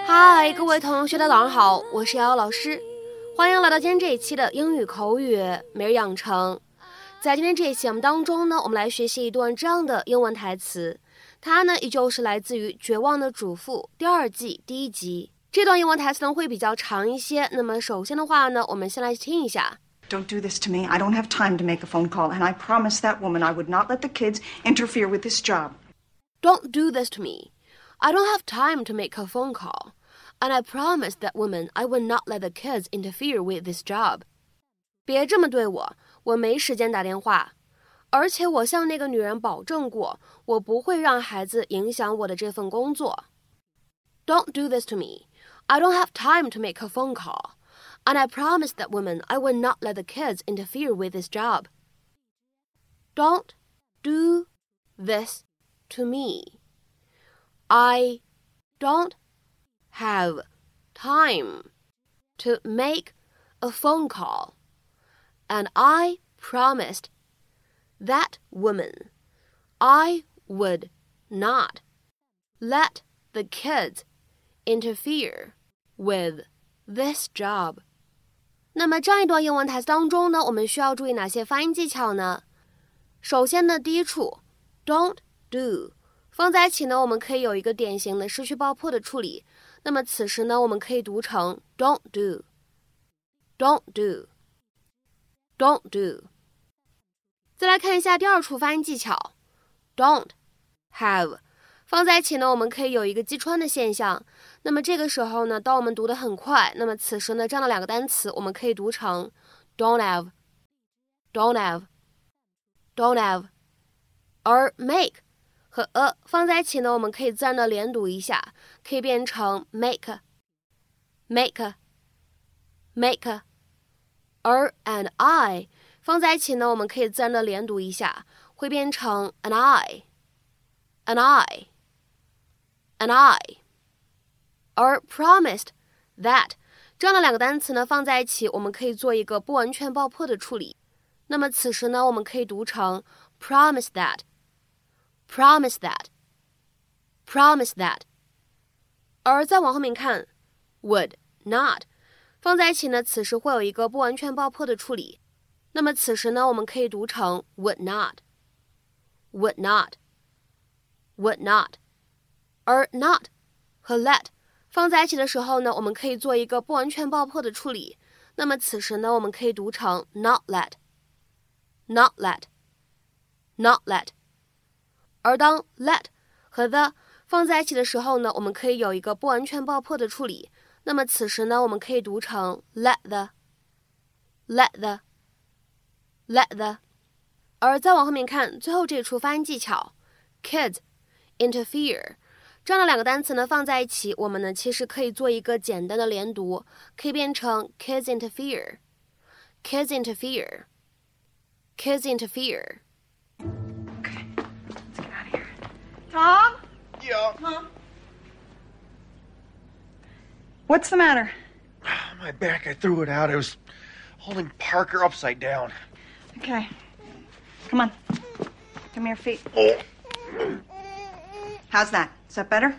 嗨，各位同学，大家早上好，我是瑶瑶老师，欢迎来到今天这一期的英语口语每日养成。在今天这一期节目当中呢，我们来学习一段这样的英文台词，它呢依旧是来自于《绝望的主妇》第2季第1集。这段英文台词呢会比较长一些，那么首先的话呢，我们先来听一下。 Don't do this to me. I don't have time to make a phone call, and I promised that woman I would not let the kids interfere with this job. Don't do this to me. I don't have time to make a phone call, and I promised that woman I would not let the kids interfere with this job. 别这么对我，我没时间打电话，而且我向那个女人保证过，我不会让孩子影响我的这份工作。Don't do this to me. I don't have time to make a phone call.And I promised that woman I would not let the kids interfere with this job. Don't do this to me. I don't have time to make a phone call. And I promised that woman I would not let the kids interfere with this job.那么这样一段英文台词当中呢，我们需要注意哪些发音技巧呢？首先呢，第一处 don't do 放在一起呢，我们可以有一个典型的失去爆破的处理。那么此时呢，我们可以读成 don't do don't do don't do。 再来看一下第2处发音技巧 don't have放在一起呢，我们可以有一个击穿的现象。那么这个时候呢，当我们读得很快，那么此时呢，这样的2个单词我们可以读成 don't have don't have don't have。 而 make 和 a 放在一起呢，我们可以自然的连读一下，可以变成 make make make。 而 and I 放在一起呢，我们可以自然的连读一下，会变成 and I and I and I。 而 promised that 这样的2个单词呢放在一起，我们可以做一个不完全爆破的处理。那么此时呢，我们可以读成 promise that promise that promise that。 而再往后面看 would not 放在一起呢，此时会有一个不完全爆破的处理。那么此时呢，我们可以读成 would not would not would not。 而 not 和 let 放在一起的时候呢，我们可以做一个不完全爆破的处理。那么此时呢，我们可以读成 not let not let not let。 而当 let 和 the 放在一起的时候呢，我们可以有一个不完全爆破的处理。那么此时呢，我们可以读成 let the let the let the。 而再往后面看最后这一处发音技巧 kids interfere这样的2个单词呢放在一起，我们呢其实可以做一个简单的连读，可以变成 kids interfere kids interfere kids interfere。 Okay, let's get out of here. Tom? Yeah. Mom? What's the matter? My back, I threw it out. I was holding Parker upside down. Okay. Come on. Give me your feet. Oh. How's that? Is that better?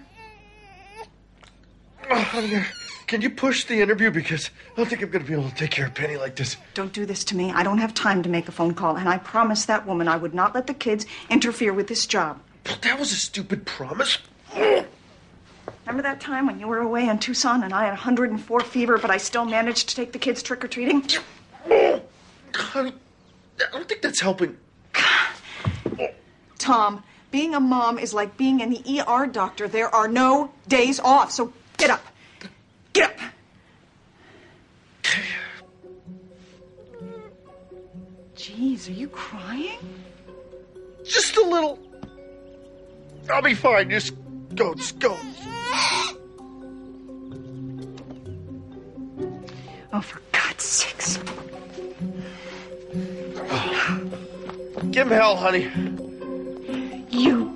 Oh, honey, can you push the interview? Because I don't think I'm going to be able to take care of Penny like this. Don't do this to me. I don't have time to make a phone call, and I promised that woman I would not let the kids interfere with this job. But that was a stupid promise. Oh. Remember that time when you were away in Tucson and I had 104 fever, but I still managed to take the kids trick-or-treating? Oh. Honey, I don't think that's helping. Oh. Tom, being a mom is like being an ER doctor. There are no days off, so get up. Get up. Jeez, are you crying? Just a little. I'll be fine. Just go. Oh, for God's sakes. Give him hell, honey. You.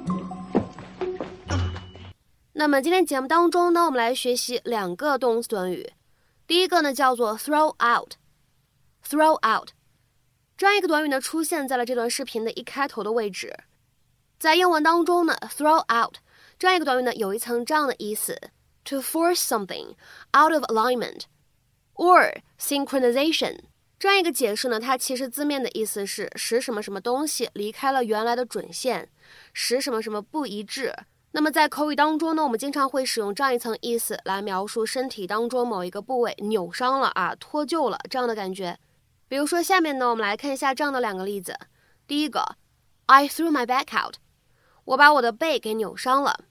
那么今天节目当中呢，我们来学习2个动词短语。第一个呢叫做 throw out。throw out 这样一个短语呢出现在了这段视频的一开头的位置。在英文当中呢 throw out 这样一个短语呢有一层这样的意思 to force something out of alignment or synchronization。这样一个解释呢，它其实字面的意思是使什么什么东西离开了原来的准线，使什么什么不一致。那么在口语当中呢，我们经常会使用这样一层意思来描述身体当中某一个部位扭伤了啊、脱臼了这样的感觉。比如说下面呢，我们来看一下这样的两个例子。第一个 I threw my back out， 我把我的背给扭伤了。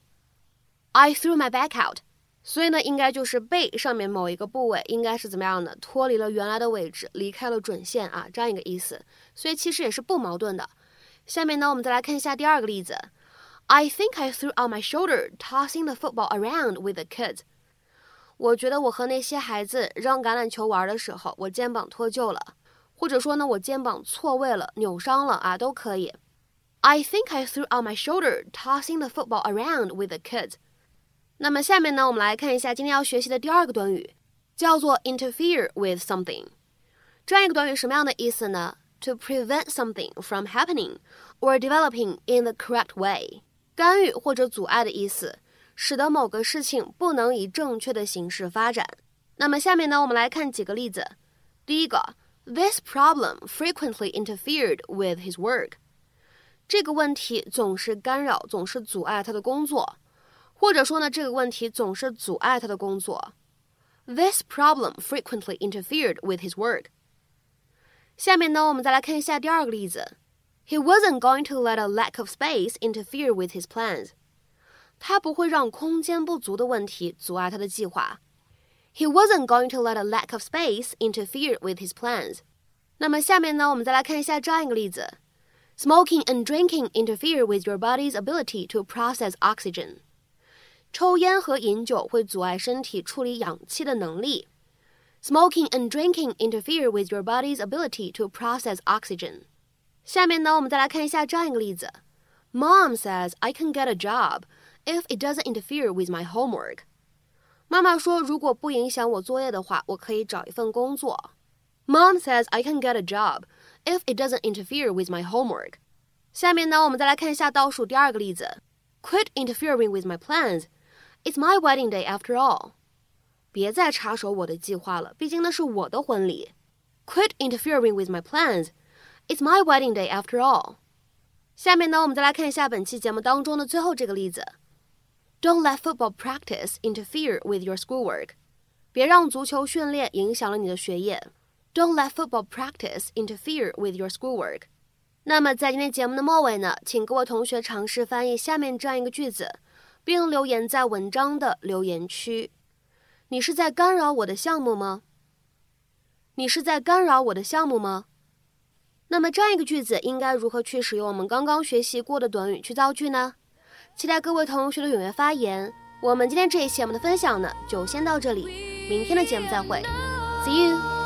I threw my back out， 所以呢，应该就是背上面某一个部位应该是怎么样的，脱离了原来的位置，离开了准线啊，这样一个意思。所以其实也是不矛盾的。下面呢，我们再来看一下第二个例子。I think I threw out my shoulder tossing the football around with the kids。 我觉得我和那些孩子扔橄榄球玩的时候，我肩膀脱臼了，或者说呢，我肩膀错位了，扭伤了啊，都可以。I think I threw out my shoulder tossing the football around with the kids。 那么下面呢，我们来看一下今天要学习的第二个短语，叫做 interfere with something。 这样一个短语什么样的意思呢？ To prevent something from happening or developing in the correct way。 干预或者阻碍的意思，使得某个事情不能以正确的形式发展。那么下面呢，我们来看几个例子。第一个 This problem frequently interfered with his work。 这个问题总是干扰，总是阻碍他的工作。或者说呢，这个问题总是阻碍他的工作。 This problem frequently interfered with his work。 下面呢，我们再来看一下第二个例子。He wasn't going to let a lack of space interfere with his plans。 他不会让空间不足的问题阻碍他的计划。 He wasn't going to let a lack of space interfere with his plans。 那么下面呢，我们再来看一下这样一个例子。Smoking and drinking interfere with your body's ability to process oxygen。 抽烟和饮酒会阻碍身体处理氧气的能力。 Smoking and drinking interfere with your body's ability to process oxygen。 下面呢，我们再来看一下这样一个例子。Mom says I can get a job if it doesn't interfere with my homework。 妈妈说，如果不影响我作业的话，我可以找一份工作。 Mom says I can get a job if it doesn't interfere with my homework。 下面呢，我们再来看一下倒数第二个例子。Quit interfering with my plans. It's my wedding day after all。 别再插手我的计划了，毕竟那是我的婚礼。 Quit interfering with my plans. It's my wedding day after all。 下面呢，我们再来看一下本期节目当中的最后这个例子。Don't let football practice interfere with your schoolwork。 别让足球训练影响了你的学业。Don't let football practice interfere with your schoolwork。 那么在今天节目的末尾呢，请各位同学尝试翻译下面这样一个句子，并留言在文章的留言区。你是在干扰我的项目吗？你是在干扰我的项目吗？那么这样一个句子应该如何去使用我们刚刚学习过的短语去造句呢？期待各位同学的踊跃发言。我们今天这一期节目的分享呢，就先到这里，明天的节目再会 ，See you。